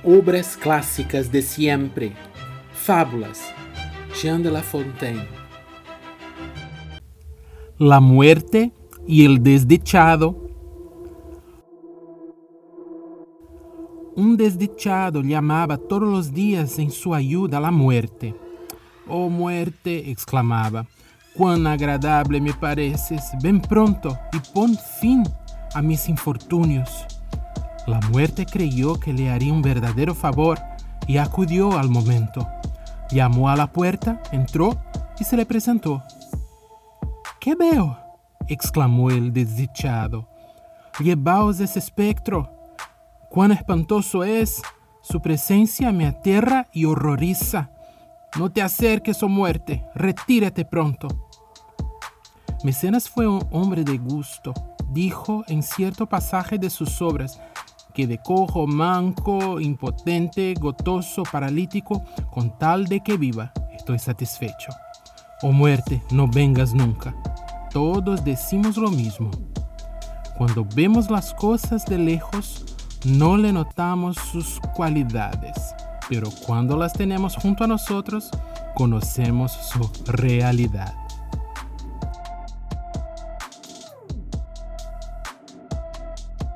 Obras clássicas de siempre. Fábulas. Jean de La Fontaine. La muerte y el desdichado. Un desdichado llamaba todos los días en su ayuda a la muerte. «Oh muerte», exclamaba, «cuán agradable me pareces, ven pronto y pon fin a mis infortunios». La muerte creyó que le haría un verdadero favor y acudió al momento. Llamó a la puerta, entró y se le presentó. «¿Qué veo?», exclamó el desdichado. «Llevaos ese espectro. Cuán espantoso es. Su presencia me aterra y horroriza. No te acerques, oh muerte, retírate pronto». Mecenas fue un hombre de gusto. Dijo en cierto pasaje de sus obras que de cojo, manco, impotente, gotoso, paralítico, con tal de que viva, estoy satisfecho. Oh muerte, no vengas nunca. Todos decimos lo mismo. Cuando vemos las cosas de lejos, no le notamos sus cualidades, pero cuando las tenemos junto a nosotros, conocemos su realidad.